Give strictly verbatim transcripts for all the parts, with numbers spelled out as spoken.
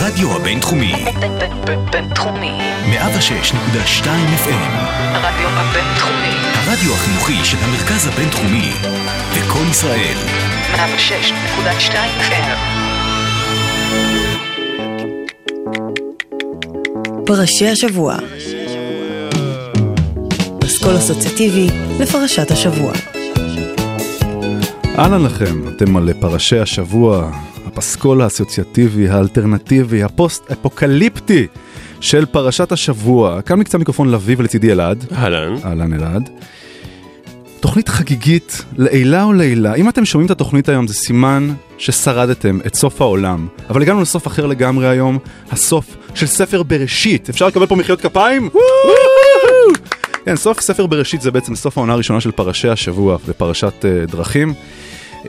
הרדיו הבינתחומי. בינתחומי. מאה ושש נקודה שתיים אף אם. הרדיו הבינתחומי. הרדיו החינוכי של המרכז הבינתחומי. וכל ישראל. מאה ושש נקודה שתיים אף אם. פרשי השבוע. פסקול אסוציאטיבי לפרשת השבוע. אהלן לכם, אתם על פרשי השבוע, הפסקול האסוציאטיבי, האלטרנטיבי, הפוסט-אפוקליפטי של פרשת השבוע. כאן מקצה מיקרופון לוי ולצידי אלעד. אהלן. אהלן אלעד. תוכנית חגיגית, לעילה או לעילה. אם אתם שומעים את התוכנית היום, זה סימן ששרדתם את סוף העולם. אבל הגענו לסוף אחר לגמרי היום, הסוף של ספר בראשית. אפשר לקבל פה מחיאות כפיים? כן, סוף ספר בראשית זה בעצם סוף העונה הראשונה של פרשי השבוע בפרשת uh, דרכים. Uh,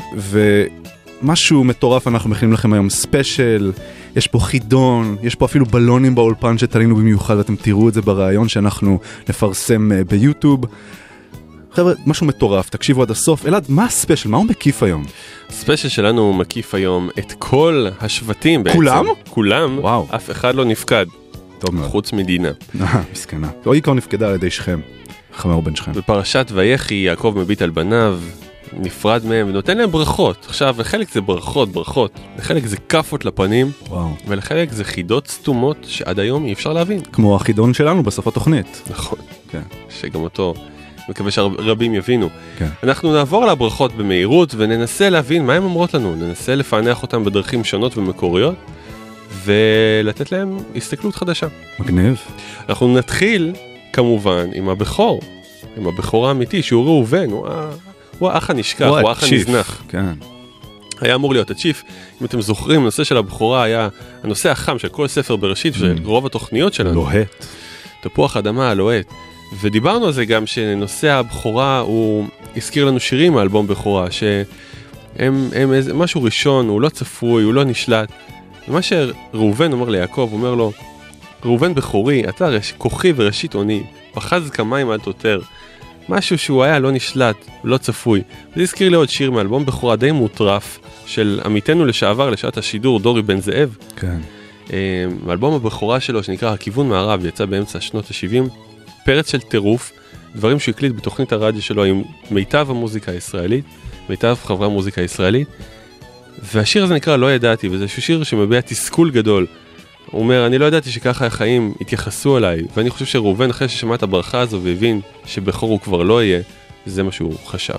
ומשהו מטורף אנחנו מכינים לכם היום ספיישל, יש פה חידון, יש פה אפילו בלונים באולפן שתלינו במיוחד, ואתם תראו את זה ברעיון שאנחנו נפרסם uh, ביוטיוב. חבר'ה, משהו מטורף, תקשיבו עד הסוף. אלעד, מה הספיישל? מה הוא מקיף היום? הספיישל שלנו מקיף היום את כל השבטים בעצם. כולם? כולם, וואו. אף אחד לא נפקד. טוב מאוד. חוץ מדינה. אה, מסכנה. היא כבר נפקדה על ידי שכם. חמור בן שכם. בפרשת ויחי, יעקב מביט על בניו, נפרד מהם ונותן להם ברכות. עכשיו, לחלק זה ברכות, ברכות. לחלק זה כפות לפנים. וואו. ולחלק זה חידות סתומות שעד היום אי אפשר להבין. כמו החידון שלנו בסוף התוכנית. נכון. כן. שגם אותו מקווה שרבים יבינו. כן. אנחנו נעבור על הברכות במהירות וננסה להבין מה הן אומרות לנו. ננסה לפענח אותן בדרכים שונות ומקוריות. ולתת להם הסתכלות חדשה. מגניב. אנחנו נתחיל כמובן עם הבכור, עם הבכור האמיתי, שהוא ראובן, הוא, הוא האח הנשכח, הוא, הוא האח הנזנח. כן. היה אמור להיות הצ'יף. אם אתם זוכרים, הנושא של הבכורה היה הנושא החם של כל ספר בראשית, mm. של רוב התוכניות שלנו. לוהט. תפוח אדמה, לוהט. ודיברנו על זה גם שנושא הבכורה, הוא הזכיר לנו שירים מאלבום בכורה, שהם הם איזה, משהו ראשון, הוא לא צפוי, הוא לא נשלט. ומה שראובן אומר ליעקב, אומר לו, ראובן בכורי, אתה רש, כוחי וראשית עוני, פחז כמים עד תותר, משהו שהוא היה לא נשלט, לא צפוי. זה הזכיר לי עוד שיר מאלבום בכורה די מוטרף, של עמיתנו לשעבר לשעת השידור, דורי בן זאב. כן. מאלבום הבכורה שלו, שנקרא הכיוון מערב, יצא באמצע שנות ה-שבעים, פרץ של טירוף, דברים שהוא הקליט בתוכנית הרדיו שלו עם מיטב המוזיקה הישראלית, מיטב חברי המוזיקה הישראלית, והשיר הזה נקרא לא ידעתי, וזה שיר שמביע תסכול גדול. הוא אומר, אני לא ידעתי שככה החיים התייחסו אליי, ואני חושב שראובן אחרי ששמע את הברכה הזו והבין שבכור הוא כבר לא יהיה, זה מה שהוא חשב.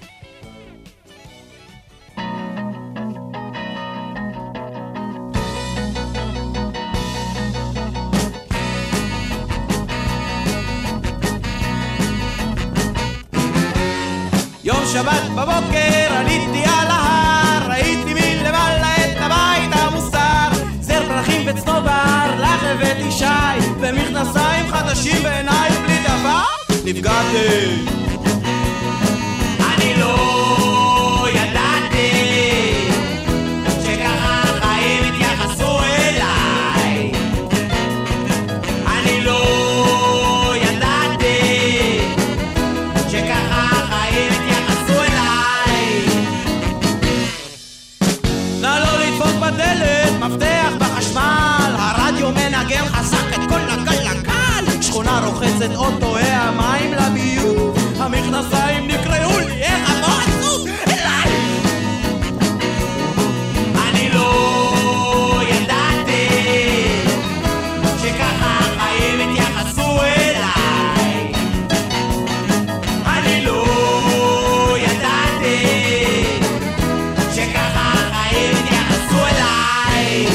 יום שבת בבוקר עליתי על ההר, ראיתי מלמעלה את הבית המוסר, זר פרחים וצנובר, לך הבאתי שי, ומכנסיים חדשים בעיניי בלי דבר, נפגעתי. אני לא ידעתי שככה החיים התייחסו אליי, אני לא ידעתי שככה החיים התייחסו אליי. נא לא לדפוק בדלת, מפתח בחשמל, הרדיו מנגן חזק את כל הגלגל, שכונה רוחצת אוטו, המים לביוב, המכנסיים נקראו לי, איך המועצות אליי. אני לא ידעתי שככה החיים התייחסו אליי, אני לא ידעתי שככה החיים התייחסו אליי.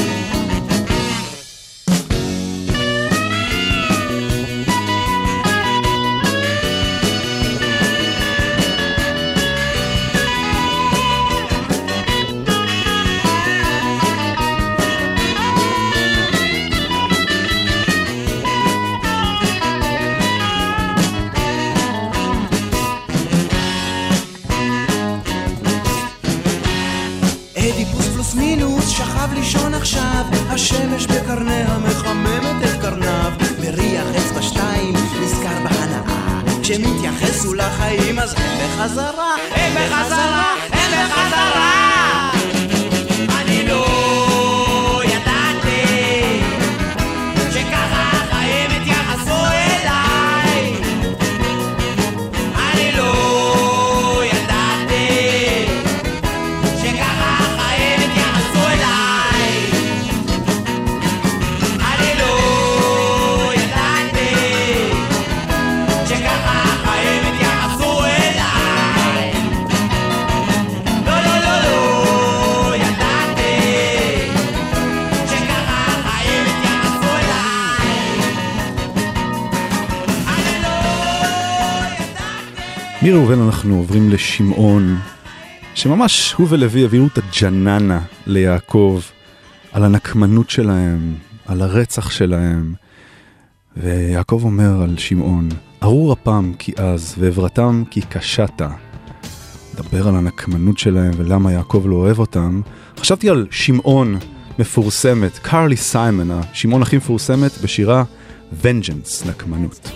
אדיפוס פלוס מינוס שכב לישון עכשיו, השמש בקרניה מחממת את קרניו, מריח אצבע שתיים נזכר בהנאה, כשמתייחסו לחיים אז הם בחזרה, הם בחזרה, הם בחזרה. אני לא ידעתי מראובן אנחנו עוברים לשמעון, שממש הוא ולוי הביאו את הג'ננה ליעקב, על הנקמנות שלהם, על הרצח שלהם. ויעקב אומר על שמעון, ארור אפם כי אז, ועברתם כי קשתה. דבר על הנקמנות שלהם ולמה יעקב לא אוהב אותם. חשבתי על שמעון מפורסמת, קרלי סיימון, השמעון הכי מפורסמת בשירה Vengeance, נקמנות.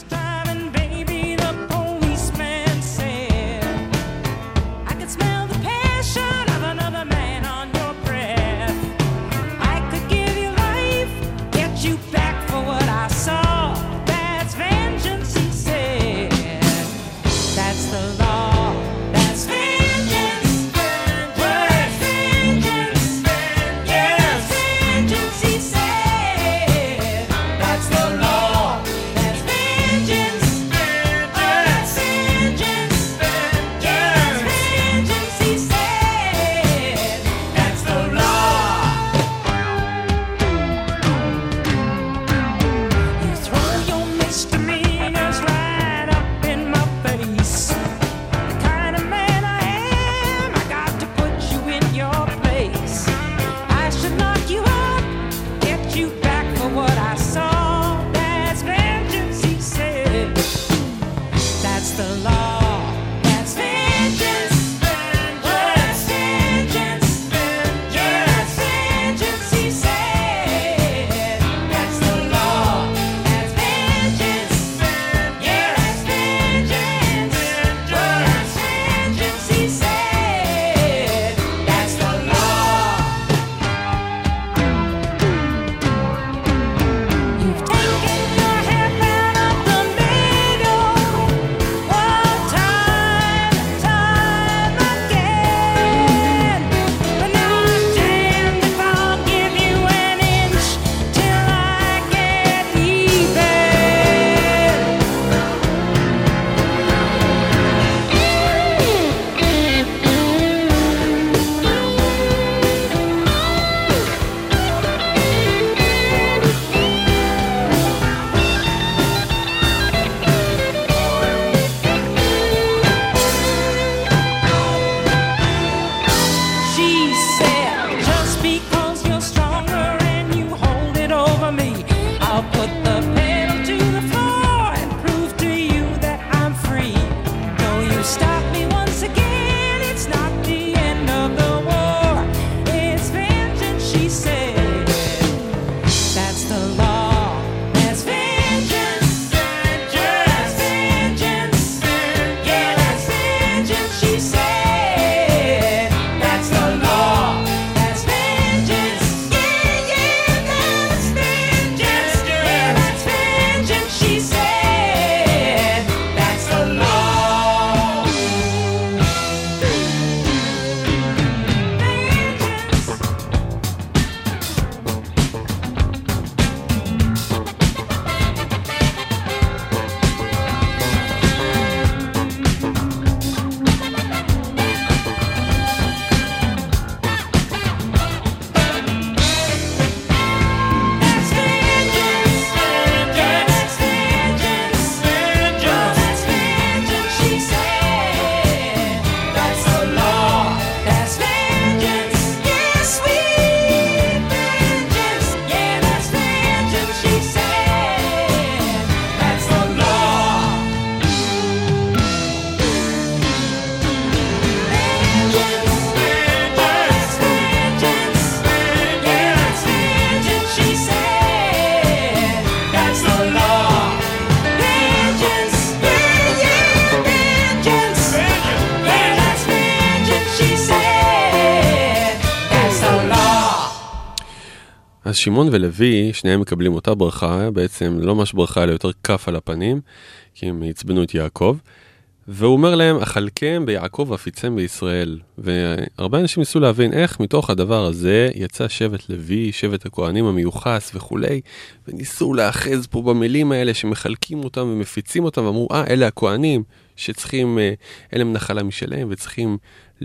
אז שמעון ולוי, שניהם מקבלים אותה ברכה, בעצם לא ממש ברכה, אלא יותר כף על הפנים, כי הם הצבנו את יעקב, והוא אומר להם, אכלכם ביעקב ואפיצם בישראל, והרבה אנשים ניסו להבין איך מתוך הדבר הזה יצא שבט לוי, שבט הכהנים המיוחס וכולי, וניסו לאחז פה במילים האלה שמחלקים אותם ומפיצים אותם, ואמרו, אה, אלה הכהנים שצריכים, אלה הם נחלה משלהם, וצריכים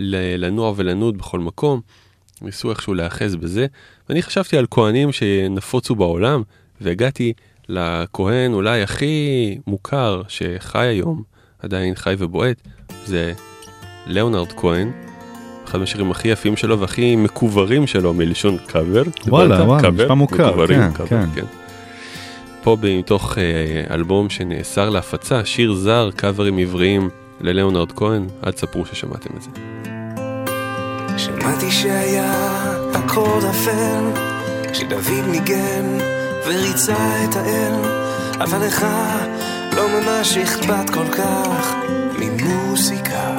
לנוע ולנוד בכל מקום, ניסו איכשהו לאחז בזה, ואני חשבתי על כהנים שנפוצו בעולם, והגעתי לכהן אולי הכי מוכר שחי היום, עדיין חי ובועט, זה ליאונרד כהן, אחד מהשירים הכי יפים שלו והכי מקוברים שלו מלשון קאבר. וואלה, וואלה, משפע מוכר, כן, כן. כן. פה מתוך אלבום שנאסר להפצה, שיר זר, קאברים עבריים לליאונרד כהן, עד ספרו ששמעתם את זה. שמעתי שהיה אקורד אפל, שדוד ניגן וריצה את האל, אבל לך לא ממש אכפת כל כך ממוסיקה.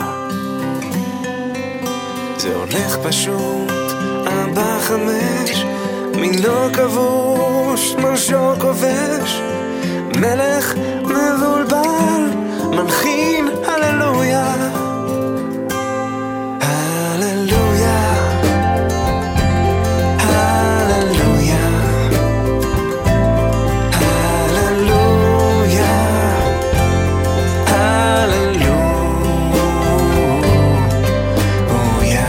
זה הולך פשוט, ארבע חמש, מינו כבוש, מרשו כובש, מלך מבולבל, מנחין הללויה. הללויה, הללויה, הללויה, הללויה.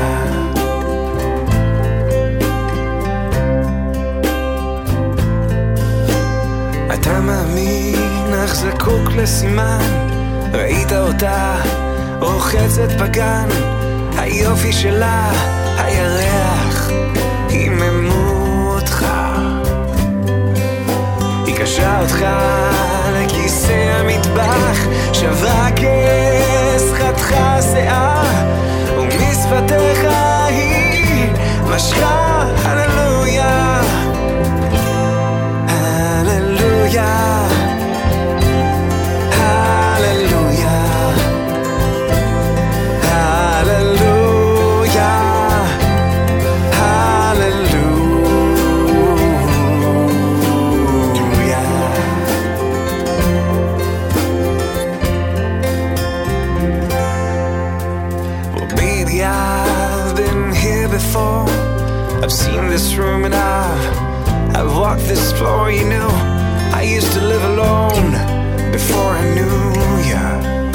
אתה מאמין אך זקוק לסימן, ראית אותה רוחצת בגן, היופי שלה, הירח, היממו אותך, היא קשה אותך לכיסא המטבח, שברה כס, חתכה שיער, ומשפתיך היא משכה. הללויה, הללויה, I've seen this room and I've, I've walked this floor, you know, I used to live alone before I knew ya.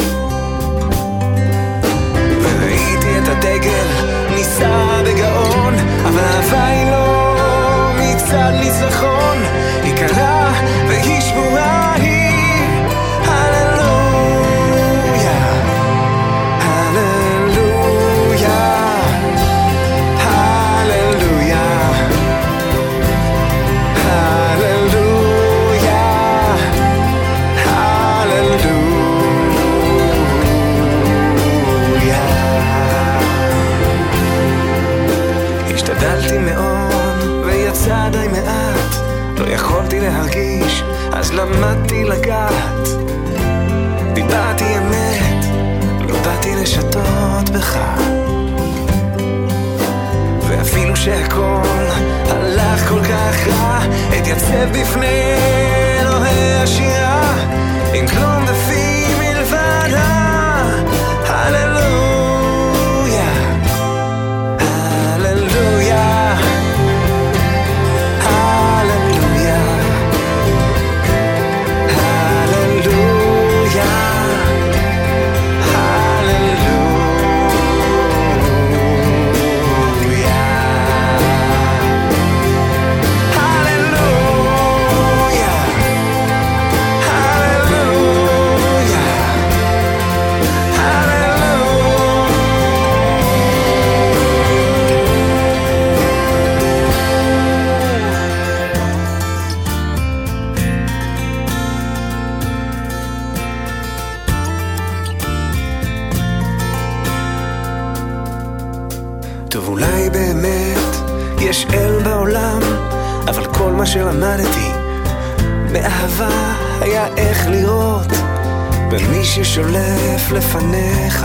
וראיתי את הדגל ניסה בגאון, אבל אהבה היא לא מצד ניצחון, היא קלה והיא שבורה היא. הללויה, הללויה, השתדלתי מאוד ויצא די מעט, לא יכולתי להרגיש אז למדתי לגעת, דיברתי אמת, לא באתי לשתות בך, ואפילו שהכל הלך כל כך רע, התייצב בפני אלוהי השירה עם כלום בפי מלבד הללויה. יש אל בעולם, אבל כל מה שלמדתי מאהבה היה איך לראות במי ששולף לפניך.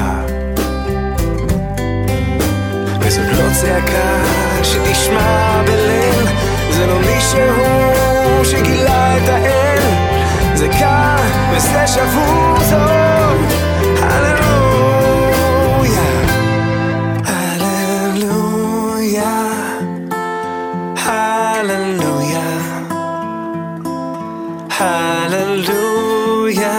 וזאת לא צעקה שתשמע בליל, זה לא מישהו שגילה את האל, זה כאן וזה שבור זאת. הללויה, הללויה, Hallelujah, Hallelujah,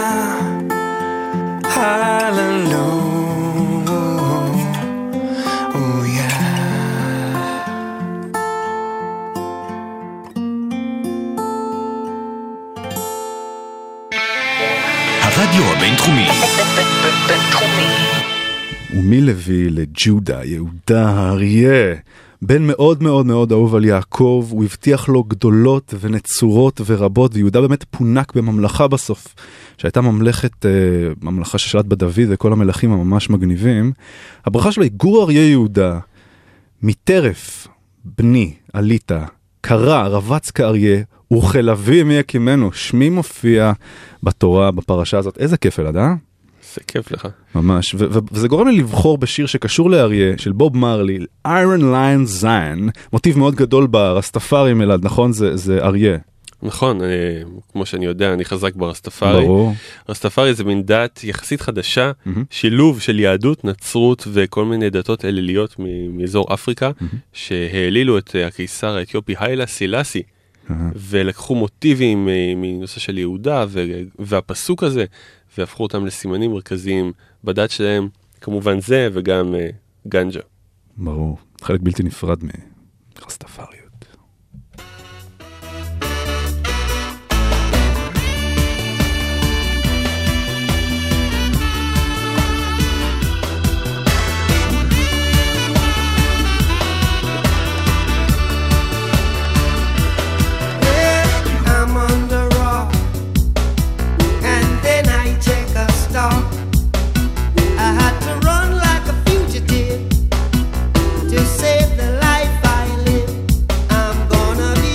Hallelujah. הרדיו הבינתחומי הביא לג'ודה, יהודה האריה. בן מאוד מאוד מאוד אהוב על יעקב, הוא הבטיח לו גדולות ונצורות ורבות, ויהודה באמת פונק בממלכה בסוף, שהייתה ממלכת, ממלכה ששלט בדוד וכל המלכים הממש מגניבים. הברכה שלו היא גור אריה יהודה, מטרף, בני, עלית, קרא, רבץ כאריה, וכלבי מי יקימנו. שמי מופיע בתורה, בפרשה הזאת. איזה כיף אלעד, אה? זה כיף לך. ממש, ו- ו- וזה גורם לי לבחור בשיר שקשור לאריה, של בוב מרלי, Iron Lion Zion, מוטיב מאוד גדול ברסטפארים אלעד, נכון? זה, זה אריה. נכון, אני, כמו שאני יודע, אני חזק ברסטפארי. ברור. רסטפארי זה מין דת יחסית חדשה, Mm-hmm. שילוב של יהדות, נצרות וכל מיני דתות אליליות מ- מאזור אפריקה, mm-hmm. שהעלילו את הקיסר האתיופי היילה סילאסי, mm-hmm. ולקחו מוטיבים מנושא של יהודה ו- והפסוק הזה, והפכו אותם לסימנים מרכזיים בדת שלהם, כמובן זה וגם uh, גנג'ה. ברור, חלק בלתי נפרד מרסטפאריות. Save the life I live. I'm gonna be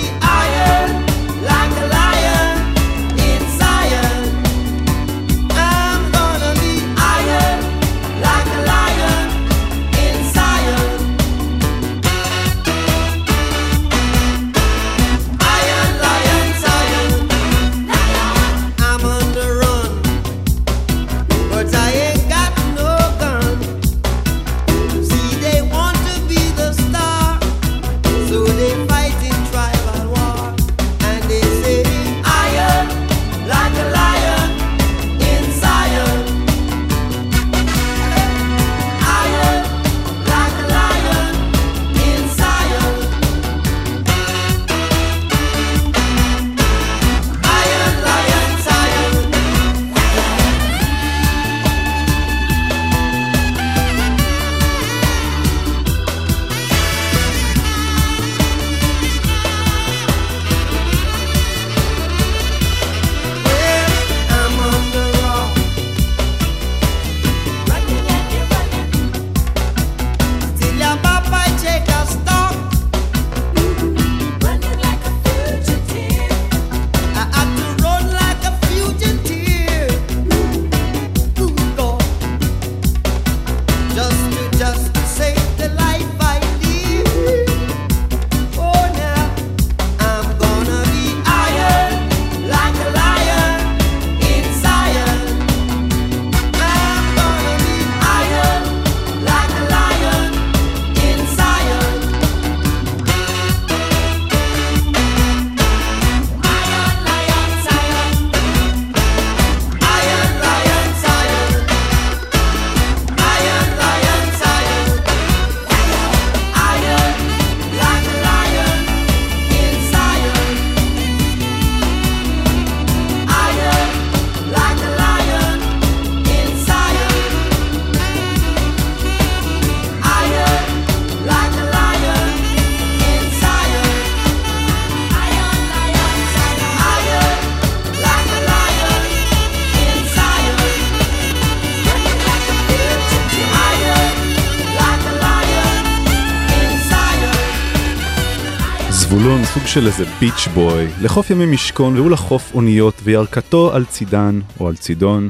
זבולון, סוג של איזה ביץ' בוי, לחוף ימי משכון והוא לחוף אוניות וירכתו על צידן או על צידון.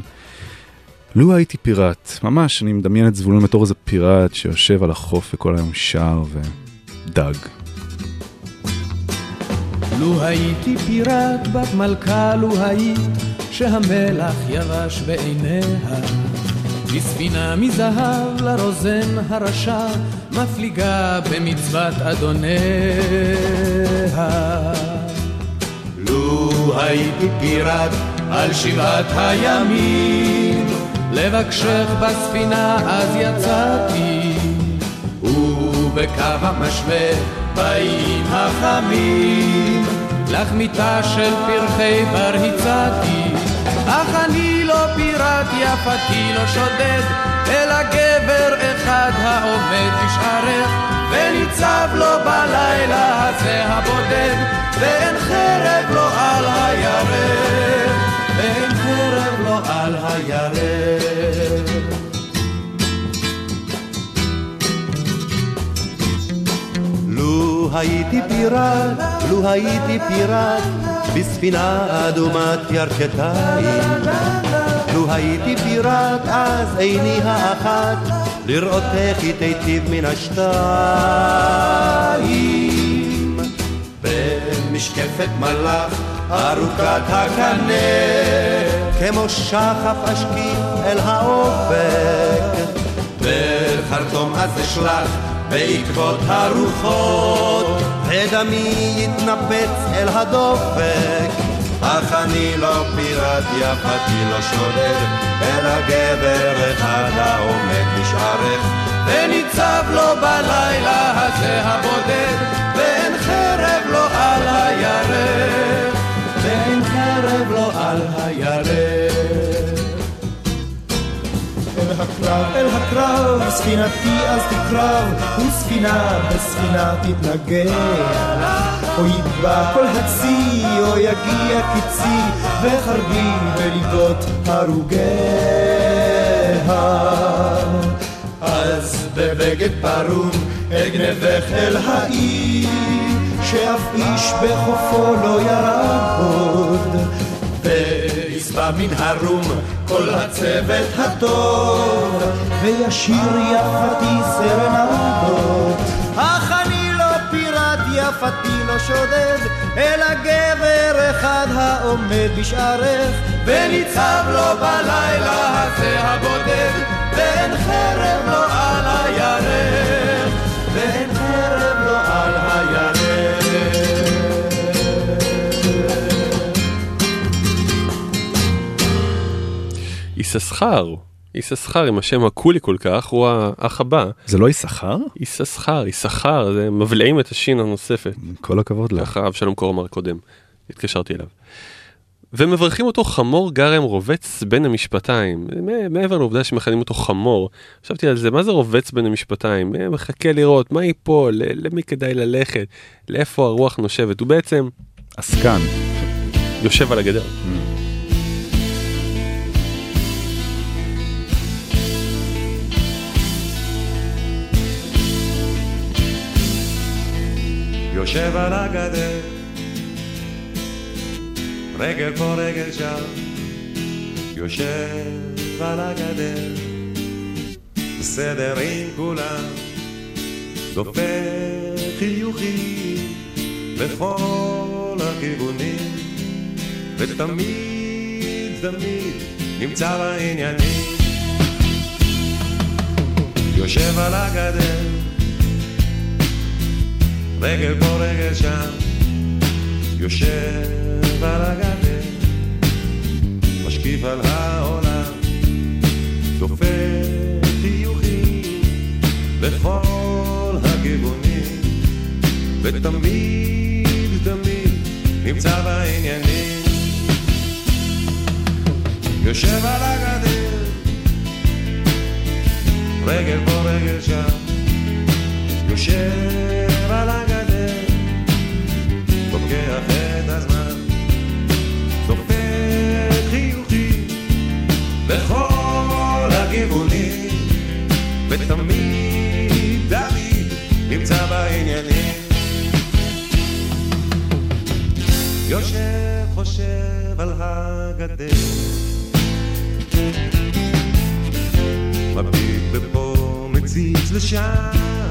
לו הייתי פיראט, ממש אני מדמיין את זבולון בתור איזה פיראט שיושב על החוף וכל היום שר ודג. לו הייתי פיראט בת מלכה, לו היית שהמלח יבש בעיניה, בספינה מזהב לרוזן הרשע מפליגה במצוות אדוניה. לו הייתי פיראט על שבעת הימים, לבקשך בספינה אז יצאתי, ובקו המשווה באים החמים, לך מיטה של פרחי בר הצעתי, אך אני לא פיראט, יפתי לא שודד, אלא גבר אחד העומד בשערך, וניצב לו בלילה הזה הבודד, ואין חרב לו על הירך, ואין חרב לו על הירך. לו הייתי פיראט, לו הייתי פיראט, בספינה אדומת ירכתיים, לו הייתי פיראט אז עיני האחת לראות איך היא תיטיב מן השתיים. במשקפת מלאך ארוכת הקנה, כמו שחף אשקיף אל האופק, בחרטום אז אשלח בעקבות הרוחות, ודמי יתנפץ אל הדופק. אך אני לא פיראט, יפתי לא שודד, אלא גבר אחד העומד בשערך, וניצב לו בלילה הזה הבודד, ואין חרב לו על הירך, ואין חרב לו על הירך. אל הקרב, אל הקרב, ספינתי אז תקרב, וספינה בספינה תתנגח, או ידבע כל הצי, או יגיע קיצי, וחרבי בליבות הרוגיה. אז בבגד פרום אגנבך אל העיר, שאף איש בחופו לא ירד עוד, ויסבע מן הרום כל הצוות הטוב, וישיר יפתי סרנדות. אך אני לא פיראט, יפתי לא שודד, אלא גבר אחד העומד בשערך, וניצב לו בלילה הזה הבודד, ואין חרב לו על הירך, ואין חרב לו על הירך. יששכר, יששכר עם השם הקולי כל כך, הוא האח הבא. זה לא יששכר? יששכר, יששכר, זה מבלעים את השין הנוספת. כל הכבוד לך. ככה אבשלום קור אמר קודם, התקשרתי אליו. ומברכים אותו חמור גרם רובץ בין המשפטיים. מעבר לעובדה שמכנים אותו חמור, חשבתי על זה, מה זה רובץ בין המשפטיים? מחכה לראות מה ייפול, למי כדאי ללכת, לאיפה הרוח נושבת. הוא בעצם עסקן. יושב על הגדר. יושב על הגדר, רגל פה רגל שם, יושב על הגדר, בסדר עם כולם, דופק חיוכים בכל הכיוונים, ותמיד תמיד נמצא בעניינים. יושב על הגדר, רגל פה רגל שם, יושב על הגדר, משקיף על העולם, דופק חיוכים בכל הכיוונים, ותמיד תמיד נמצא בעניינים. יושב על הגדר, רגל פה רגל שם, יושב על הגדר, לוקח את הזמן, דופק חיוכים בכל הכיוונים, ותמיד תמיד נמצא בעניינים. יושב חושב על הגדר, מביט לפה מציץ לשם,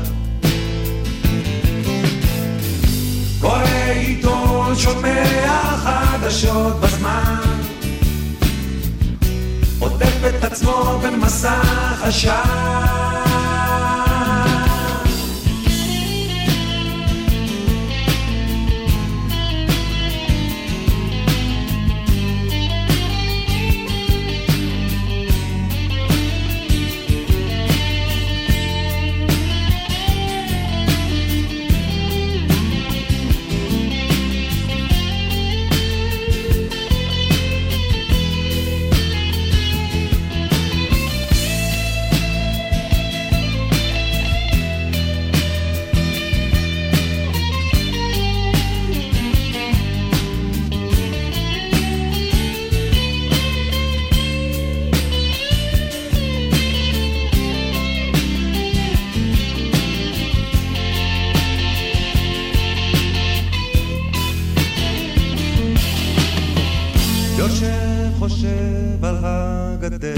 קורא עיתון, שומע חדשות בזמן, עוטף את עצמו במסך עשן. הגדר,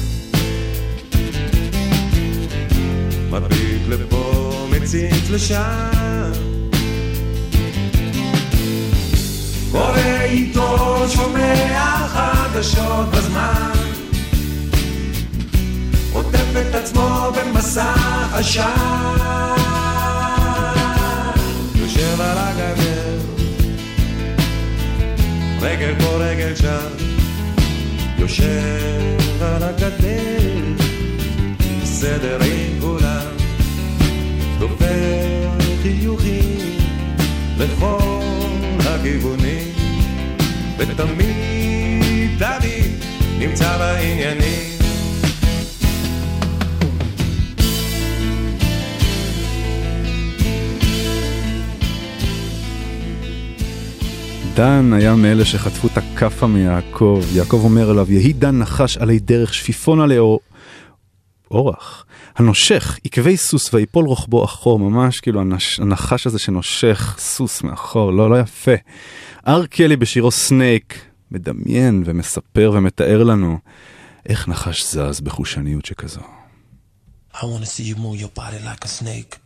מדביק לפה מציץ לשם, קורא עיתון שומע חדשות בזמן, עוטף את עצמו במסך עשן, יושב על הגדר, רגל פה רגל שם, יושב על הגדר, בסדר עם כולם, דופק חיוכים לכל הכיוונים, ותמיד תמיד נמצא בעניינים. דן היה מאלה שחטפו את הכפה מיעקב. יעקב אומר אליו, יהי דן נחש עלי דרך שפיפון עלי אור... אורח. הנושך, עקבי סוס ויפול רוחבו אחור, ממש כאילו הנש... הנחש הזה שנושך סוס מאחור, לא, לא יפה. אר קלי בשירו סנייק, מדמיין ומספר ומתאר לנו איך נחש זז בחושניות שכזו. I want to see you move your body like a snake.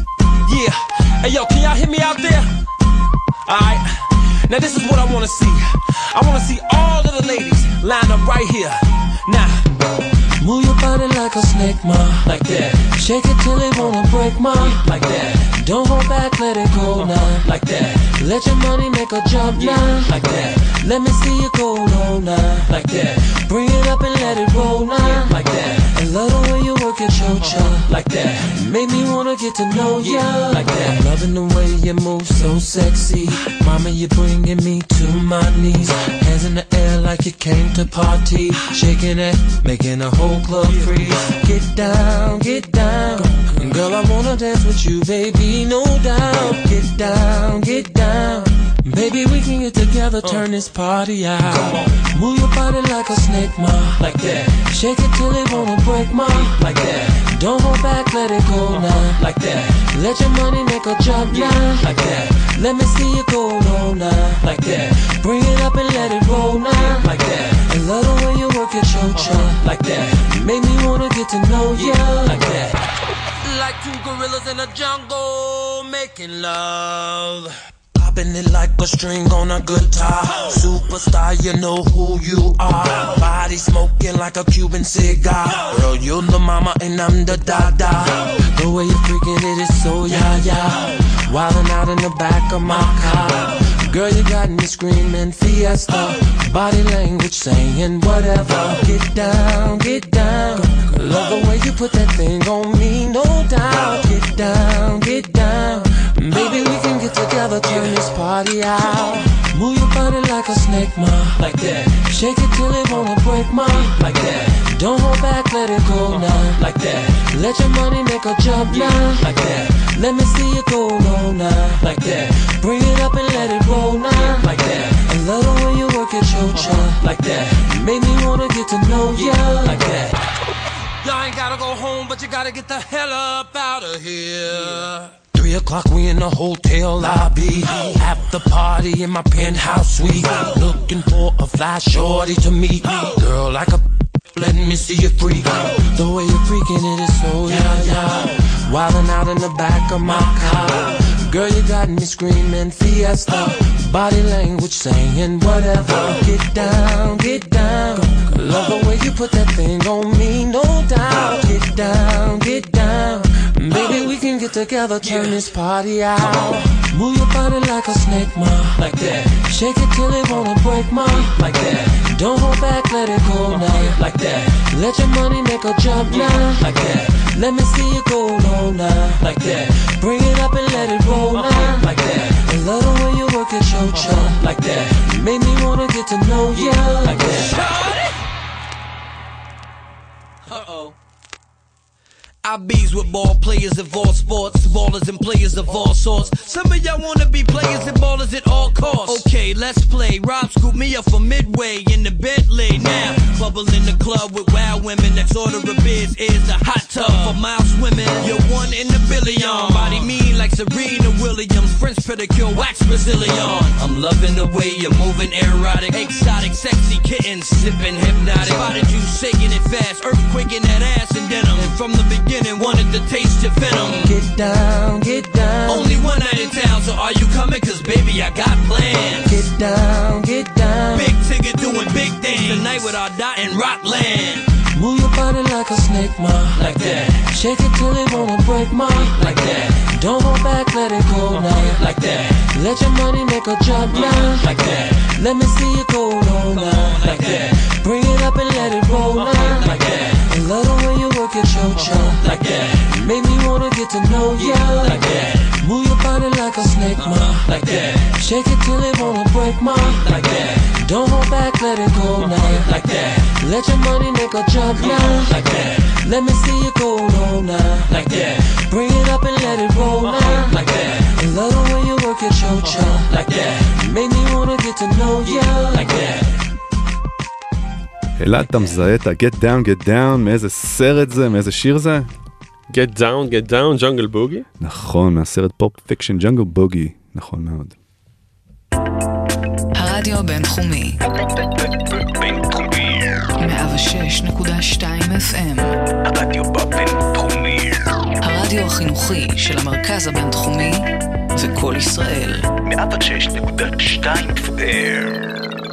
Yeah, hey yo, can y'all hear me out there? Alright, now this is what I want to see. I want to see all of the ladies lined up right here. Now, move your body like a snake, ma, like that. Shake it till it wanna break, ma, like that. Don't hold back, let it go now, like that. Let your money make a jump now, like that. Let me see you go low now, like that. Bring it up and let it roll now, like that. I love the way you work your cho-cha, like that. Make me wanna get to know ya, like that. I'm loving the way you move so sexy. Mama, you're bringing me to my knees. Hands in the air like you came to party. Shaking it, making a whole club freeze. Get down, get down. Girl, I wanna dance with you, baby, no doubt. Get down, get down. Baby, we can get together, turn this party out. Move your body like a snake, ma, like that. Shake it till it wanna break, ma, like that. Don't hold back, let it go now, like that. Let your money make a jump now, like that. Let me see you go low now, like that. Bring it up and let it roll now, like that. I love the way you work your cho-cha, like that. Make me wanna get to know ya, like that. Like two gorillas in a jungle making love. Popping it like a string on a guitar. Superstar, you know who you are. Body smoking like a Cuban cigar. Girl, you're the mama and I'm the dada. The way you're freaking it is so ya-ya. Wildin' out in the back of my car. Girl, you got me screaming fiesta. Body language saying whatever. Get down, get down. Love the way you put that thing on me, no doubt. Get down, get down. Baby, we can get together, turn this party out. Move your body like a snake, ma, like that. Shake it till it wanna break, ma, like that. Don't hold back, let it go now, like that. Let your money make a jump now, like that. Let me see you go low now, like that. Bring it up and let it roll now, like that. I love the way you work your cho-cha, like that. Make me wanna get to know ya, like that. Y'all ain't gotta go home, but you gotta get the hell up out of here. Three o'clock, we in the hotel lobby. After party in my penthouse suite. Looking for a fly shorty to meet. Girl, like a let me see you freak. The way you're freaking it is so yeah, yeah. Wildin' out in the back of my car. Girl, you got me screaming fiesta. Body language saying whatever. Get down, get down. Love the way you put that thing on me, no doubt. Get down, get down. Baby, we can get together, turn this party out. Move your body like a snake, ma, like that. Shake it till it wanna break, ma, like that. Don't hold back, let it go now, like that. Let your money make a jump now, like that. Let me see you go low now, like that. Bring it up and let it roll now, like that. I love the way you work your cho-cha, like that. Make me wanna get to know ya, like that. Uh-oh. I bees with ball players of all sports, ballers and players of all sorts. Some of y'all wanna be players and ballers at all costs. Okay, let's play. Rob scooped me up from Midway in the Bentley. Now, bubble in the club with wild women. Next order of beers is a hot tub for mild swimming. You're one in a billion. Body mean like Serena Williams. French to kill wax Brazilian. I'm loving the way you're moving, erotic, exotic, sexy kitten, sipping hypnotic. Spotted you shaking it fast, earthquaking that ass and denim. And from the beginning wanted to taste your venom. Get down, get down. Only one night in town, so are you coming? Cause baby I got plans. Get down, get down. Big ticket doing big things tonight with our dot in Rockland. Move your body like a snake, ma. Like that. Shake it till it wanna break, ma. Like that. Don't hold back, let it go now. Like that. Let your money make a drop now. Like that. Let me see you go low now. Like that. Bring it up and let it roll now. Like that. And love the way you work your cho-cho. Like that. Make me wanna get to know ya. Like that. Move your body like a snake, ma. Like that. Shake it till it wanna break, ma. Like that. Don't hold back, let it go now. Like that. Let your money make a jump now. Like that. Let me see you go low now. Like that. Bring it up and let it roll now. Like that. And love the way you work your cho-cho. Like that. Make me wanna get to know ya. Like that. אלעד, אתה מזהה את ה-Get Down, Get Down, מאיזה סרט זה, מאיזה שיר זה? Get Down, Get Down, Jungle Boogie? נכון, מהסרט פופ פיקשן, Jungle Boogie, נכון מאוד. הרדיו הבינתחומי בינתחומי מאה ושש נקודה שתיים אף אם. הרדיו הבינתחומי הרדיו החינוכי של המרכז הבינתחומי וכל ישראל מאה ושש נקודה שתיים אף אם.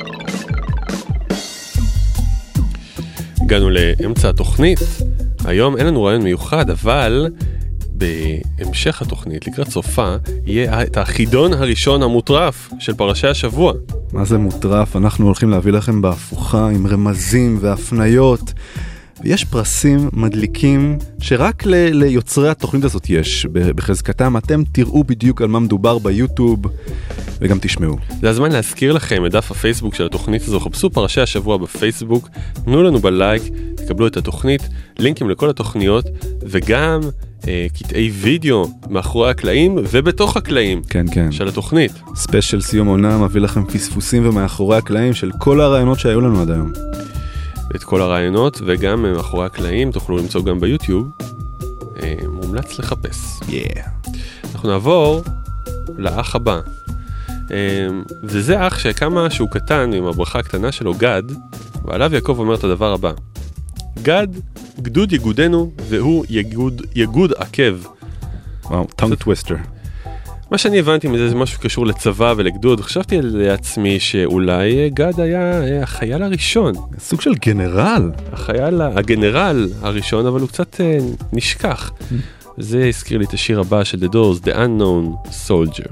הגענו לאמצע התוכנית. היום אין לנו רעיון מיוחד, אבל בהמשך התוכנית, לקראת סופה, יהיה את החידון הראשון המוטרף של פרשי השבוע. מה זה מוטרף? אנחנו הולכים להביא לכם בהפוכה עם רמזים והפניות. ויש פרסים מדליקים שרק ל- ליוצרי התוכנית הזאת יש. בחזקתם אתם תראו בדיוק על מה מדובר ביוטיוב וגם תשמעו. זה הזמן להזכיר לכם את דף הפייסבוק של התוכנית הזו. חפשו פרשי השבוע בפייסבוק, תנו לנו בלייק, תקבלו את התוכנית, לינקים לכל התוכניות וגם אה, קטעי וידאו מאחורי הקלעים ובתוך הקלעים כן, כן. של התוכנית. ספיישל סיום עונה מביא לכם פספוסים ומאחורי הקלעים של כל הרעיונות שהיו לנו עד היום. את כל הרעיונות וגם מאחורי הקלעים תוכלו למצוא גם ביוטיוב. אה, מומלץ לחפש. Yeah. אנחנו נעבור לאח הבא. וזה אח שכמה שהוא קטן עם הברכה הקטנה שלו גד, ועליו יעקב אומר את הדבר הבא: גד, גדוד יגודנו והוא יגוד, יגוד עקב. וואו, טונג טוויסטר. מה שאני הבנתי מזה זה משהו קשור לצבא ולגדוד. חשבתי לעצמי שאולי גד היה החייל הראשון, סוג של גנרל, החייל, הגנרל הראשון, אבל הוא קצת נשכח. זה הזכיר לי את השיר הבא של The Doors, The Unknown Soldier.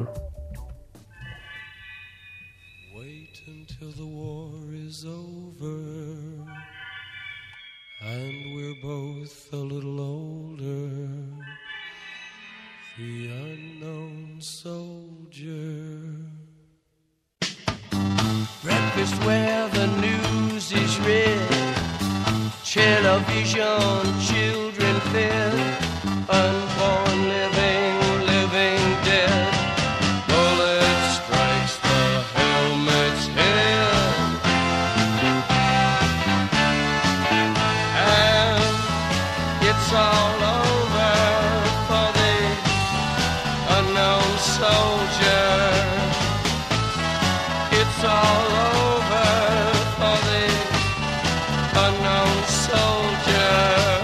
Both a little older, the unknown soldier. Breakfast where the news is read, television, children fed, unborn living, living dead. Bullet strikes the helmet's head, and it's all over for the unknown soldier. It's all over for the unknown soldier.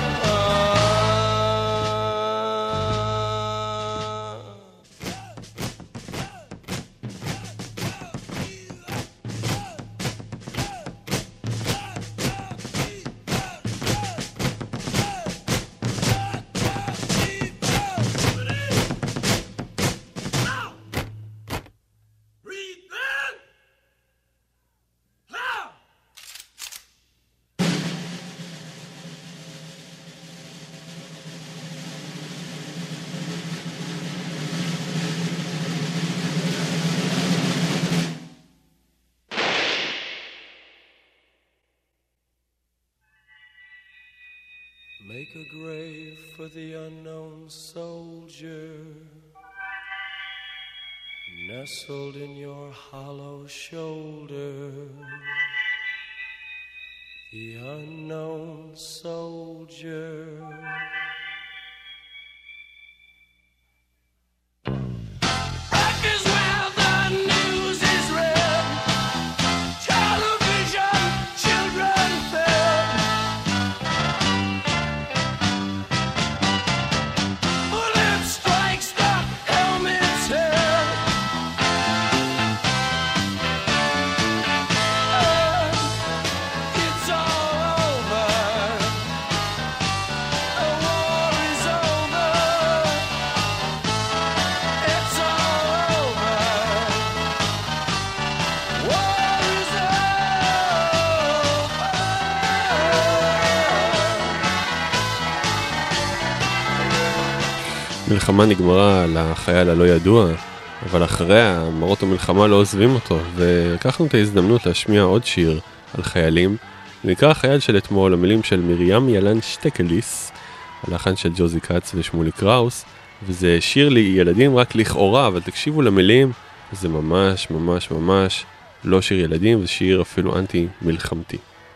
Make a grave for the unknown soldier, nestled in your hollow shoulder. The unknown soldier. Breakfast מלחמה נגמרה על החייל הלא ידוע, אבל אחריה מראות המלחמה לא עוזבים אותו, ולקחנו את ההזדמנות להשמיע עוד שיר על חיילים. נקרא החייל של אתמול, המילים של מרים ילן שטקליס, הלחן של ג'וזי קאץ ושמולי קראוס, וזה שיר לילדים רק לכאורה, אבל תקשיבו למילים, זה ממש ממש ממש לא שיר ילדים, זה שיר אפילו אנטי מלחמתי.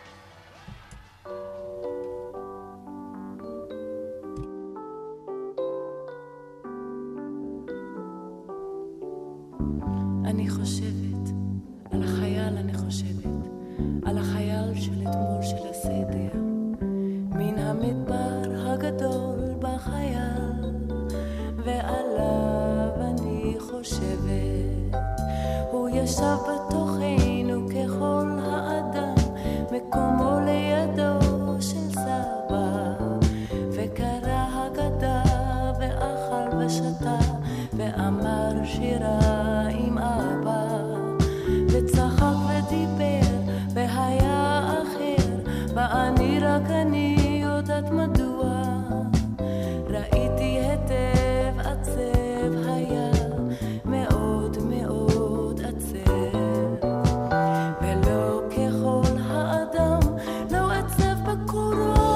אני חושבת על החייל, אני חושבת על החייל של אתמול של הסדר, מן המדבר הגדול בחייל, ועליו אני חושבת. הוא ישב בתוכנו ככל האדם, מקומו לידו של סבא, וקרא הגדה ואכל ושתה, ואמר שירה עם אבא, וצחק ודיבר והיה אחר, ואני רק אני יודעת מדוע. ראיתי היטב עצב היה, מאוד מאוד עצב, ולא ככל האדם לא עצב בקורו,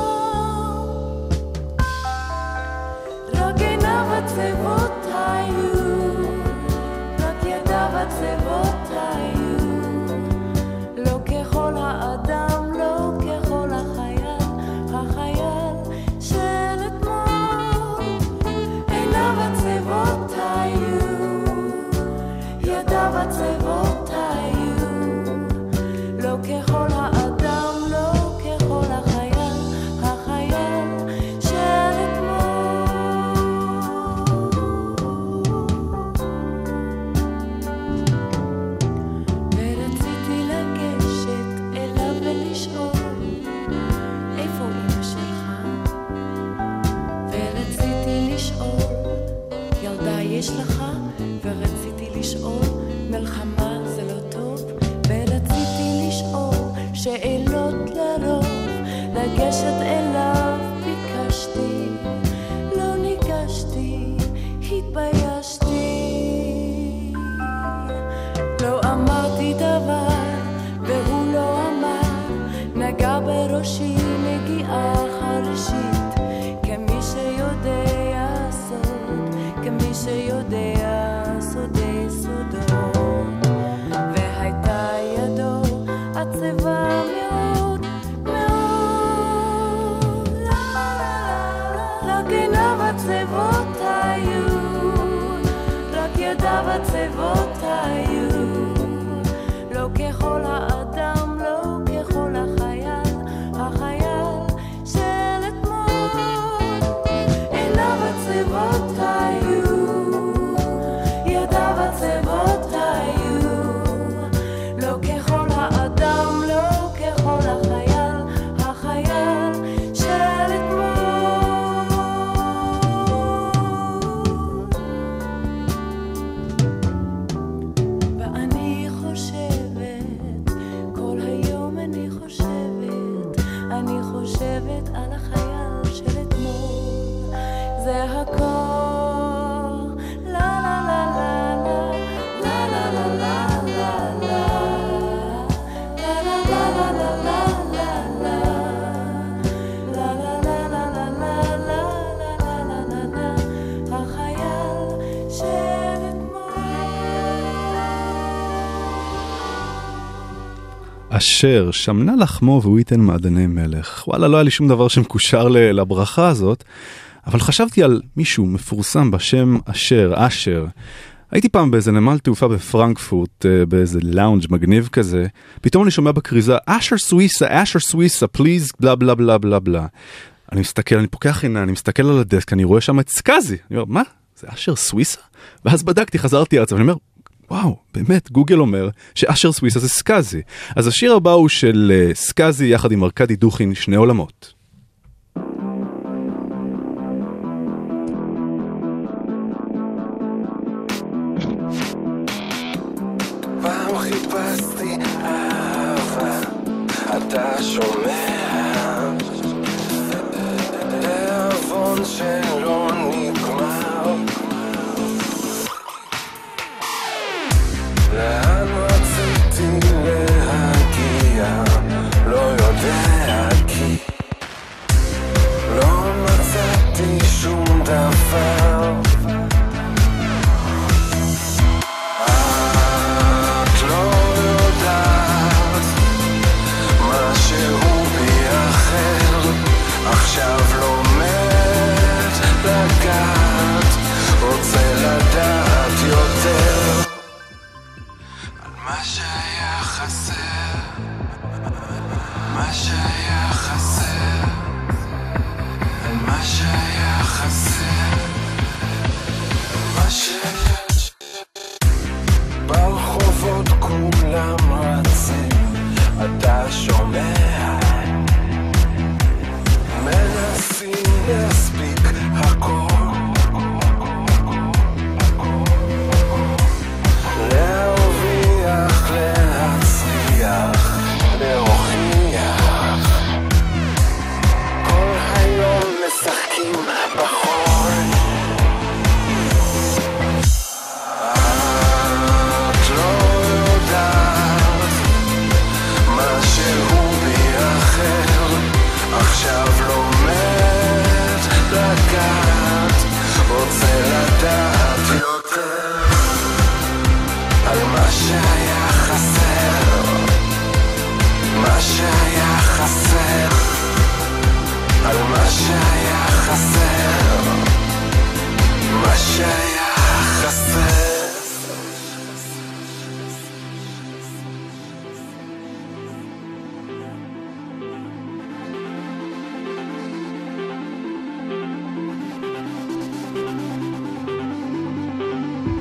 רק עיניו עצבות היו, רק ידיו עצבות היו, לא ככל האדם, לא ככל החייל, החייל של אתמול. עיניו עצבות היו, ידיו עצבות היו, לא ככל האדם, לא ככל החייל, החייל של אתמול. ורציתי לגשת אליו ולשאול, איפה אמא שלך? ורציתי לשאול, ילדה יש לך? ורציתי לשאול, מלחמה זה לא טוב? ורציתי לשאול שאלות לרוב, לגשת אליו ביקשתי, לא ניגשתי, התביישתי, לא אמרתי דבר והוא לא אמר, נגע בראשי נגיעה חרישית, כמי שיודע סוד, כמי שיודע סודי סודות, והייתה ידו עצבה מאוד מאוד, רק עיניו עצבות היו, רק ידיו עצבות היו, לא ככל האדם, לא ככל החייל, החייל של אתמול. עיניו עצבות היו, ידיו עצבות היו, לא ככל האדם, לא ככל החייל, החייל של אתמול. ואני חושבת, כל היום אני חושבת, אני חושבת על החייל של אתמול. זה הכל, לה לה לה לה לה לה לה לה לה לה אשר שמנה לחמו והוא ייתן מעדני מלך. וואלה, לא היה לי שום דבר שמקושר לברכה הזאת, אבל חשבתי על מישהו מפורסם בשם אשר, אשר. הייתי פעם באיזה נמל תעופה בפרנקפורט, באיזה לאונג' מגניב כזה, פתאום אני שומע בקריזה, אשר סוויסה, אשר סוויסה, פליז, בלה בלה בלה בלה בלה. אני מסתכל, אני פוקח עיני, אני מסתכל על הדסק, אני רואה שם את סקאזי. אני אומר, מה? זה אשר סוויסה? ואז בדקתי, חזרתי ארצה, ואני אומר, וואו, באמת, גוגל אומר שאשר סוויסה זה סקאזי. אז השיר הבא הוא של סקאזי יחד עם ארקדי דוכין, שני עולמות. פעם חיפשתי אהבה, אתה שומע? תאבון שלא נגמר,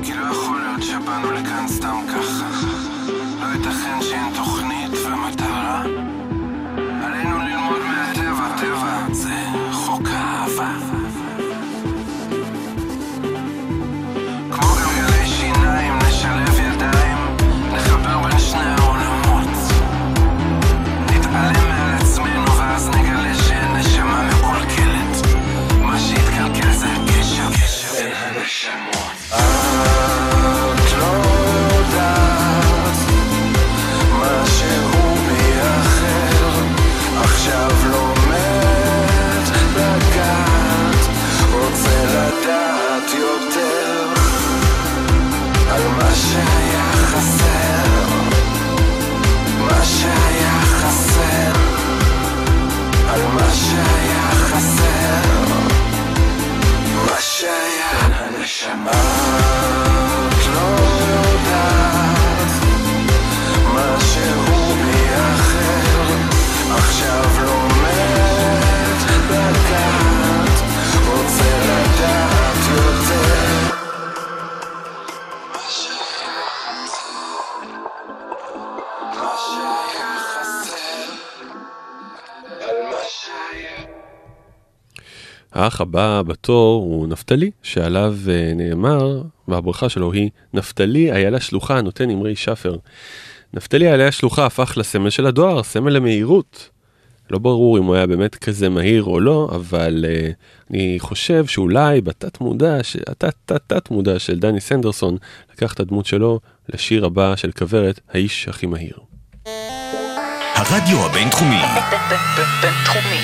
כי לא יכול להיות שבאנו לכאן סתם ככה. לא ייתכן שאין תוכנית ומטרה. עלינו ללמוד מהטבע, טבע זה חוק האהבה. כמו גלגלי שיניים נשלב ידיים, נחבר בין שני העולמות, נתעלם מעל עצמנו ואז נגלה שאין נשמה מקולקלת. מה שהתקלקל זה הקשר בין הנשמות. את לא יודעת משהו בי אחר, עכשיו לומד לגעת, רוצה לדעת יותר על מה שהיה חסר, מה שהיה חסר, על מה שהיה חסר, מה שהיה הנשמה. את לא יודעת משהו בי אחר, עכשיו לומד לגעת, רוצה לדעת יותר מה שהיה חסר, מה שהיה חסר, על מה שהיה. האח הבא בתור הוא נפתלי, שעליו נאמר, והברכה שלו היא, נפתלי איילה שלוחה נותן אמרי שפר. נפתלי איילה שלוחה הפך לסמל של הדואר, סמל למהירות. לא ברור אם הוא היה באמת כזה מהיר או לא, אבל uh, אני חושב שאולי בתת מודע, התת תת תת מודע של דני סנדרסון, לקח את הדמות שלו לשיר הבא של כברת, האיש הכי מהיר. הרדיו הבינתחומי. בינתחומי.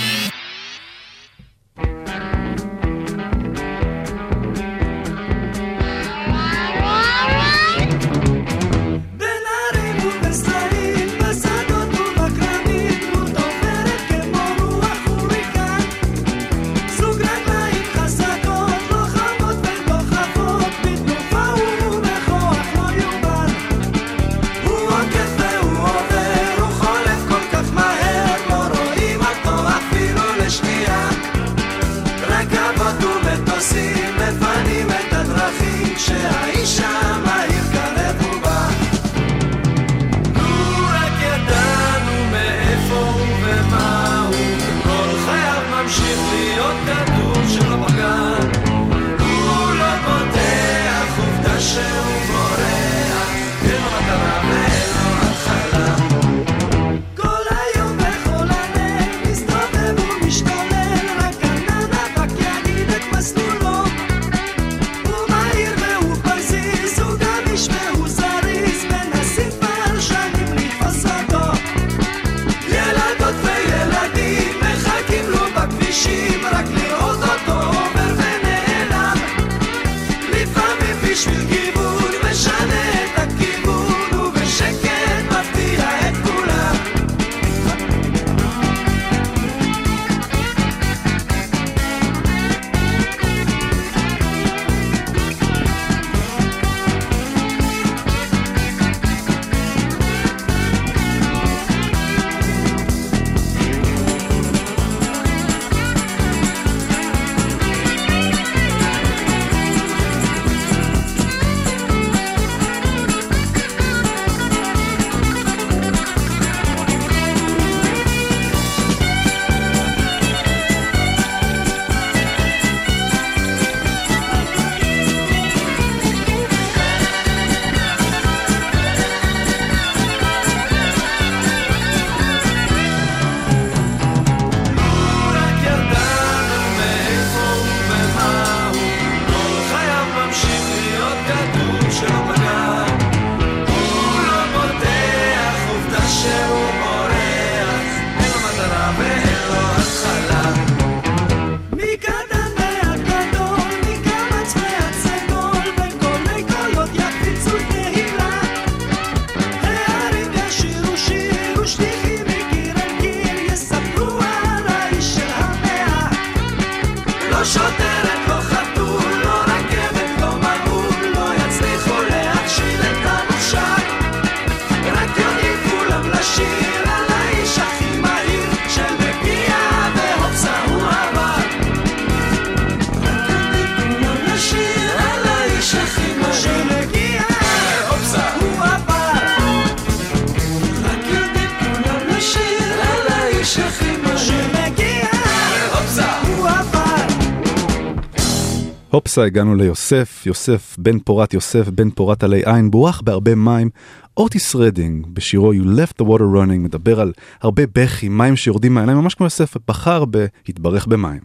הופסה, הגענו ליוסף, יוסף בן פורת, יוסף בן פורת עלי עין, בורח בהרבה מים. אוטיס רדינג בשירו You Left the Water Running מדבר על הרבה בכי, מים שיורדים מהעיניים, ממש כמו יוסף, בחר בהתברך במים.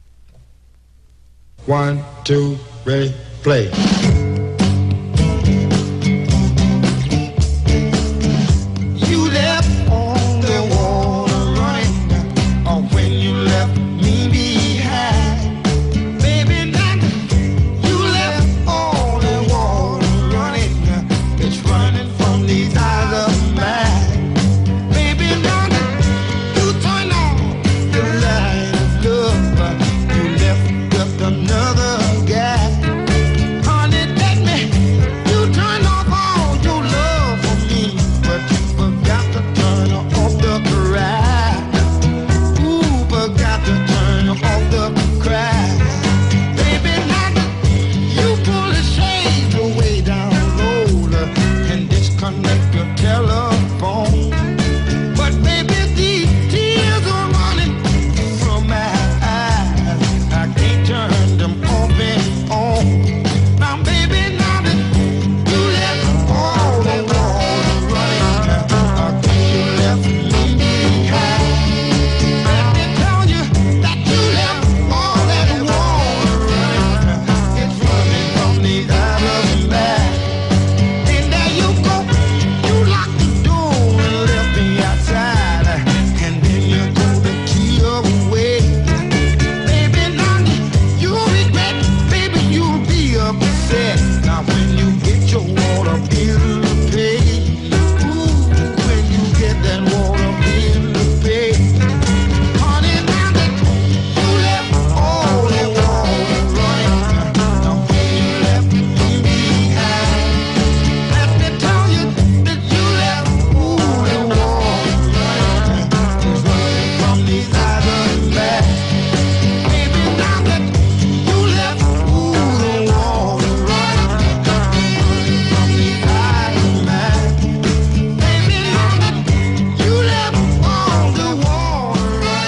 One, two, ready, play. You left on the water running, or when you left me behind. Baby, now you left all the water running, it's running from these eyes of mine. Baby, now you turn on the light of love, you left just another guy. Honey, let me, you turn off all your love for me, but you forgot to turn off the cry. Ooh, forgot to turn off the cry. Baby, now you pull the shades away down low and disconnect your telephone. But baby, these tears are running from my eyes. I can't turn them off and on. Now, baby, now that you left all the water running, again you left me behind. Let me tell you that you left all that water running. It's running from these eyes of mine. And there you go, you locked the door and left me outside, and then you threw the key away. Baby, now you regret, baby, you'll be upset. Now when you get your water bill to pay, ooh, when you get that water bill to pay, honey, now that you left all that water running, now when you left me behind, let me tell you that you left, ooh, the water running, it's running from these eyes of mine. Baby, now that you left, ooh, the water running, from these eyes of mine. Baby, now that you left all the water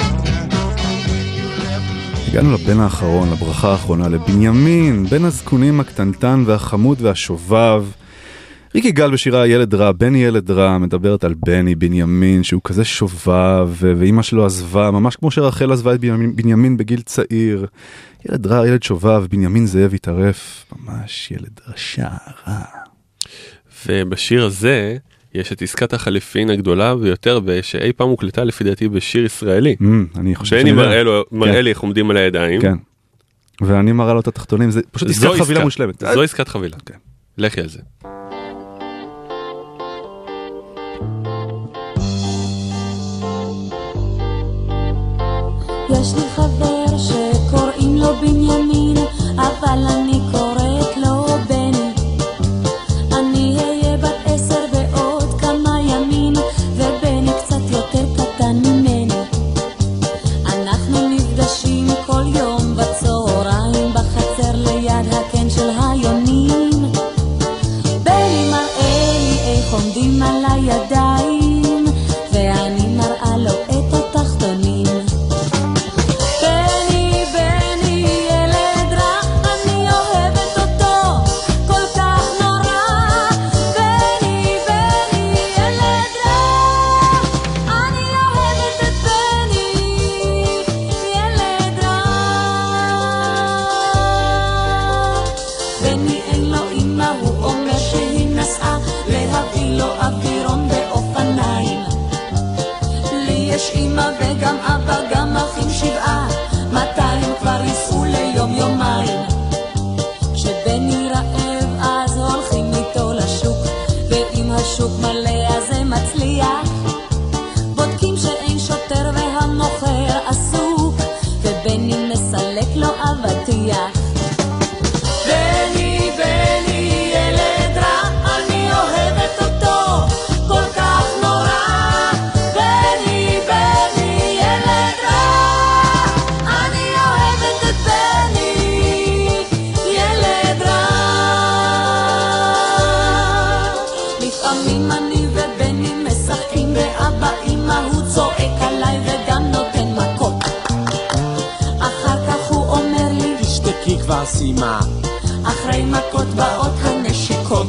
running. הגענו לבן האחרון, לברכה האחרונה, לבנימין, בן הזקונים הקטנטן והחמוד והשובב. ריק יגאל בשירה ילד רע, בני ילד רע, מדברת על בני בנימין, שהוא כזה שובב, ואמא שלו עזבה, ממש כמו שרחל עזבה את בנימין, בנימין בגיל צעיר. ילד רע, ילד שובב, בנימין זאב התערף, ממש ילד רשע, רע. ובשיר הזה יש את עסקת החליפין הגדולה ביותר שאי פעם הוקלטה לפי דעתי בשיר ישראלי. Mm, אני חושב שאני מראה לו, מראה לי איך עומדים על הידיים. כן. ואני מראה לו את התחתונים, זה פשוט עסקת חבילה מושלמת. זו עסקת חבילה. כן. לכי על זה. יש לי חבר שקוראים לו בנימין, אבל אני קוראת לו בני. אני אהיה בת עשר בעוד כמה ימים, ובני קצת יותר קטן ממני. אנחנו נפגשים כל יום בצהריים בחצר ליד הקן של היונים. בני מראה לי איך עומדים על הידיים, ואני מראה לו את התחתונים. בני, בני, ילד רע, אני אוהבת אותו כל כך נורא. בני, בני, ילד רע, אני אוהבת את בני, ילד רע. בני אין לו אמא, הוא אומר שהיא נסעה להביא לו אווירון באופניים. לי יש אמא וגם אבא, גם אחים שבעה, מתי הם כבר ייסעו ליום יומיים. כשבני רעב אז הולכים איתו לשוק, ואם השוק מלא אז זה מצליח. בודקים שאין שוטר והמוכר עסוק, ובני מסלק לו אבטיח. בני, בני, ילד רע, אני אוהבת אותו כל כך נורא. בני, בני, ילד רע, אני אוהבת את בני, ילד רע. לפעמים אני ובני משחקים באבא אמא, הוא צועק עליי וגם נותן מכות. אחר כך הוא אומר לי, תשתקי חסימה. אחרי מכות באות הנשיקות.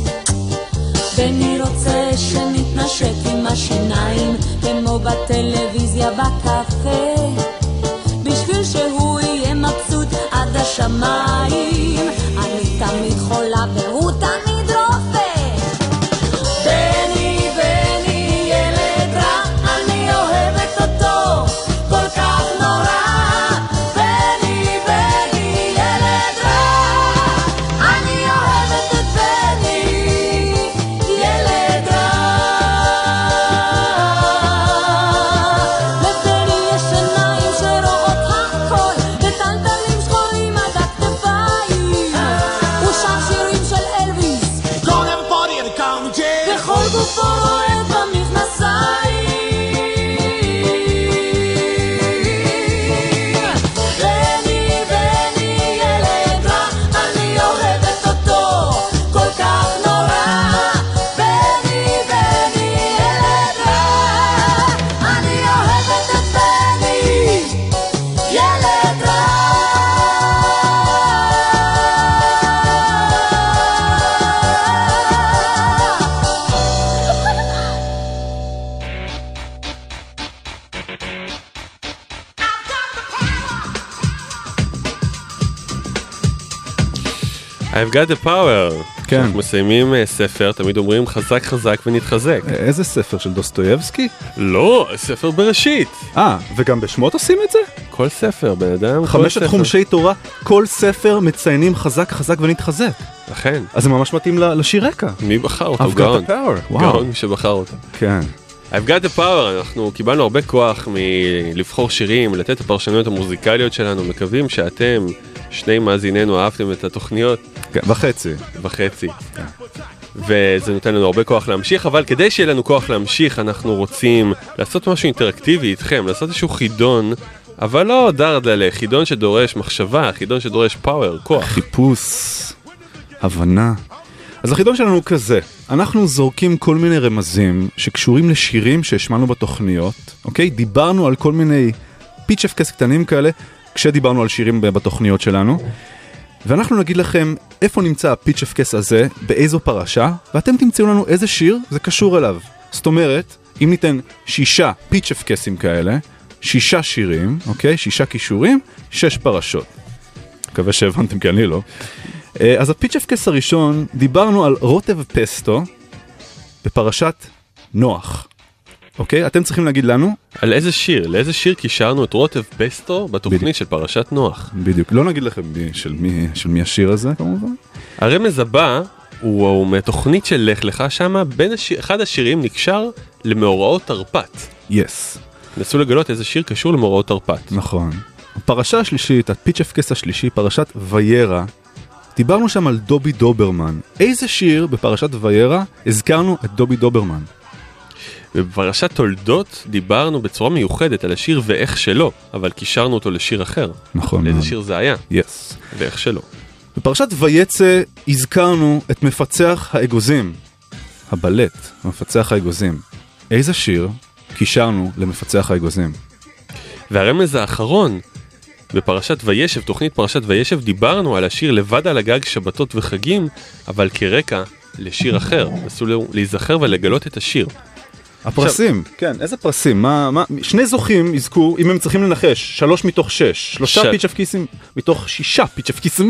בני רוצה שנתנשק עם השיניים, כמו בטלוויזיה בקפה, בשביל שהוא יהיה מבסוט עד השמיים. אני תמיד חולה והוא תמיד רופא. בני, בני, ילד רע, אני אוהבת אותו כל כך נורא. בני, בני, ילד רע, אני אוהבת את בני, ילד רע. לבני יש עיניים שרואות הכל, וטלטלים שחורים עד הכתפיים. הוא שר שירים של אלוויס, וכל גופו רועד במכנסיים. בני, בני, ילד רע, אני אוהבת אותו כל כך נורא. בני, בני, ילד רע, אני אוהבת את בני, ילד רע. I've got the power. כן. אנחנו מסיימים uh, ספר, תמיד אומרים חזק חזק ונתחזק. איזה ספר של דוסטויבסקי? לא, ספר בראשית. אה, וגם בשמות עושים את זה? כל ספר, בן אדם, כל חמשת ספר. חומשי תורה, כל ספר מציינים חזק חזק ונתחזק. אכן. אז זה ממש מתאים ל- לשיר רקע. מי בחר אותו? I've got גאון. the power. וואו. גאון מי שבחר אותו. כן. I've got the power, אנחנו קיבלנו הרבה כוח מלבחור שירים, לתת את הפרשנויות המוזיקליות שלנו, מקווים שאתם, שני מאזיננו, אהבתם את התוכניות. כן, וחצי. וחצי. וזה נותן לנו הרבה כוח להמשיך, אבל כדי שיהיה לנו כוח להמשיך, אנחנו רוצים לעשות משהו אינטראקטיבי איתכם, לעשות איזשהו חידון, אבל לא דרדלה, חידון שדורש מחשבה, חידון שדורש פאוור, כוח. חיפוש, הבנה. אז החידון שלנו הוא כזה, אנחנו זורקים כל מיני רמזים שקשורים לשירים שהשמענו בתוכניות, אוקיי? דיברנו על כל מיני פיצ'פקס קטנים כאלה, כשדיברנו על שירים בתוכניות שלנו, ואנחנו נגיד לכם איפה נמצא הפיצ'פקס הזה, באיזו פרשה, ואתם תמצאו לנו איזה שיר זה קשור אליו. זאת אומרת, אם ניתן שישה פיצ'פקסים כאלה, שישה שירים, אוקיי? שישה קישורים, שש פרשות. מקווה שהבנתם כי אני לא. אז הפיצ'פקס הראשון, דיברנו על רוטב פסטו בפרשת נוח. אוקיי? אתם צריכים להגיד לנו על איזה שיר, לאיזה שיר קישרנו את רוטב פסטו בתוכנית בדיוק. של פרשת נוח. בדיוק, לא נגיד לכם מי, של, מי, של מי השיר הזה כמובן. הרמז הבא הוא, הוא מתוכנית של לך לך שמה, בין השיר, אחד השירים נקשר למאורעות תרפ"ט. יס. נסו לגלות איזה שיר קשור למאורעות תרפ"ט. נכון. הפרשה השלישית, הפיצ'פקס השלישי, פרשת ויירה, דיברנו שם על דובי דוברמן. איזה שיר בפרשת ויירה הזכרנו את דובי דוברמן? ובפרשת תולדות דיברנו בצורה מיוחדת על השיר ואיך שלא, אבל קישרנו אותו לשיר אחר. נכון. לאיזה שיר זה היה? יס. ואיך שלא. בפרשת וייצא הזכרנו את מפצח האגוזים, הבלט, מפצח האגוזים. איזה שיר קישרנו למפצח האגוזים? והרמז האחרון, בפרשת וישב, תוכנית פרשת וישב, דיברנו על השיר לבד על הגג שבתות וחגים, אבל כרקע לשיר אחר. נסו להיזכר ולגלות את השיר. הפרסים, עכשיו, כן, איזה פרסים? מה, מה, שני זוכים יזכו, אם הם צריכים לנחש, שלוש מתוך שש, שלושה ש... פיצ'פקיסים מתוך שישה פיצ'פקיסים.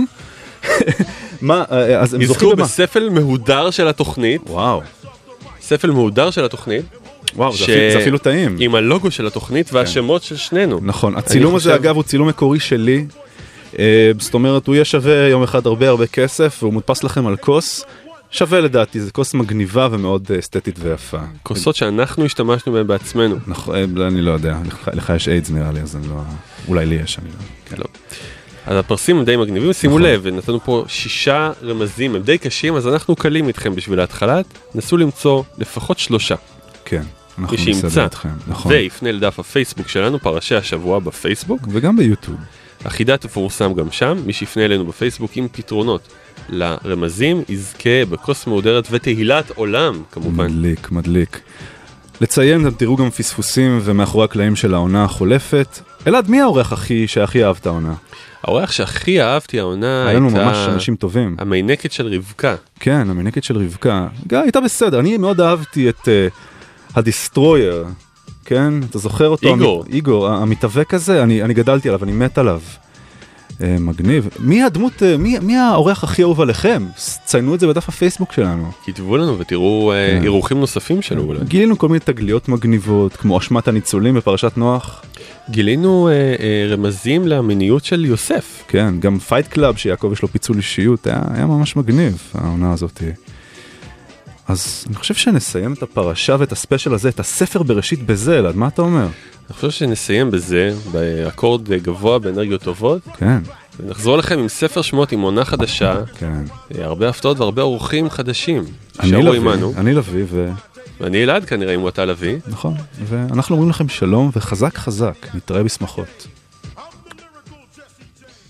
מה, אז הם יזכו בספל מהודר של התוכנית. וואו. ספל מהודר של התוכנית. וואו, ש... זה, זה אפילו טעים. עם הלוגו של התוכנית והשמות כן. של שנינו. נכון, הצילום הזה חושב... אגב הוא צילום מקורי שלי. זאת אומרת, הוא יהיה שווה יום אחד הרבה הרבה כסף, והוא מודפס לכם על כוס. שווה לדעתי, זה כוס מגניבה ומאוד אסתטית ויפה. כוסות שאנחנו השתמשנו בהן בעצמנו. נכון, אני לא יודע, לך יש איידס נראה לי, אז אני לא... אולי לי יש, אני לא... לא. אז הפרסים הם די מגניבים, שימו לב, נתנו פה שישה רמזים, הם די קשים, אז אנחנו קלים איתכם בשביל ההתחלת, נסו למצוא לפחות שלושה. כן, אנחנו נסדר איתכם, נכון. ויפנה לדף הפייסבוק שלנו, פרשי השבוע בפייסבוק. וגם ביוטיוב. החידה תפורסם גם שם, מי שיפנה אלינו בפייסבוק עם פתרונות לרמזים, יזכה בכוס מהודרת ותהילת עולם, כמובן. מדליק, מדליק. לציין, אתם תראו גם פספוסים ומאחורי הקלעים של העונה החולפת. אלעד, מי האורח הכי שהכי אהבת העונה? האורח שהכי אהבתי העונה הייתה... היינו ממש אנשים טובים. המיינקת של רבקה. כן, המיינקת של רבקה. גם הייתה בסדר, אני מאוד אהבתי את uh, הדיסטרויר, כן? אתה זוכר אותו? איגור. המ... איגור, המתאבק הזה, אני, אני גדלתי עליו, אני מת עליו. Uh, מגניב. מי הדמות, uh, מי, מי האורח הכי אהוב עליכם? ציינו את זה בדף הפייסבוק שלנו. כתבו לנו ותראו כן. uh, אירוחים נוספים שלו אולי. גילינו כל מיני תגליות מגניבות, כמו אשמת הניצולים בפרשת נוח. גילינו uh, uh, רמזים למיניות של יוסף. כן, גם פייט קלאב שיעקב יש לו פיצול אישיות, היה, היה ממש מגניב, העונה הזאת. אז אני חושב שנסיים את הפרשה ואת הספיישל הזה, את הספר בראשית בזה, אלעד, מה אתה אומר? אני חושב שנסיים בזה, באקורד גבוה, באנרגיות טובות. כן. ונחזור לכם עם ספר שמות, עם עונה חדשה. כן. הרבה הפתעות והרבה אורחים חדשים. אני לוי, אני לוי ו... ואני אלעד כנראה אם הוא אתה לוי. נכון, ואנחנו אומרים לכם שלום וחזק חזק, נתראה בשמחות.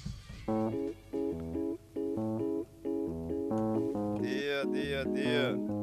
Dear, dear, dear.